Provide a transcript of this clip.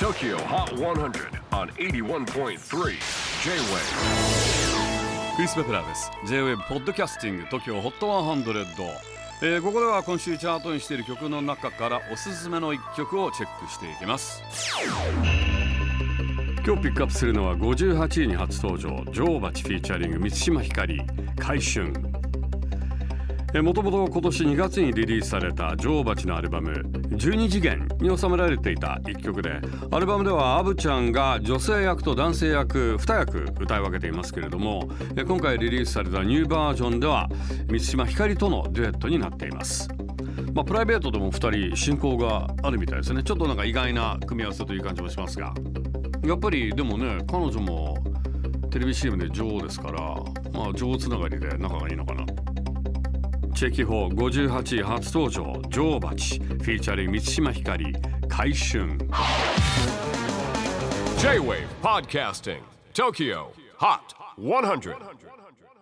TOKYO HOT 100 on 81.3 J-WAVE クリス・ベプラーです。 J-WAVE ポッドキャスティング TOKYO HOT 100、ここでは今週チャートにしている曲の中からおすすめの一曲をチェックしていきます。今日ピックアップするのは58位に初登場、女王蜂フィーチャリング満島ひかり、回春。もともと今年2月にリリースされた女王蜂のアルバム12次元に収められていた一曲で、アルバムではアブちゃんが女性役と男性役2役歌い分けていますけれども、今回リリースされたニューバージョンでは満島ひかりとのデュエットになっています。プライベートでも2人親交があるみたいですね。ちょっとなんか意外な組み合わせという感じもしますが、やっぱりでもね、彼女もテレビ CM で女王ですから、女王つながりで仲がいいのかな。チェキホー58位初登場、女王蜂フィーチャリング満島ひかり、回春。 J-WAVE PODCASTING TOKYO HOT 100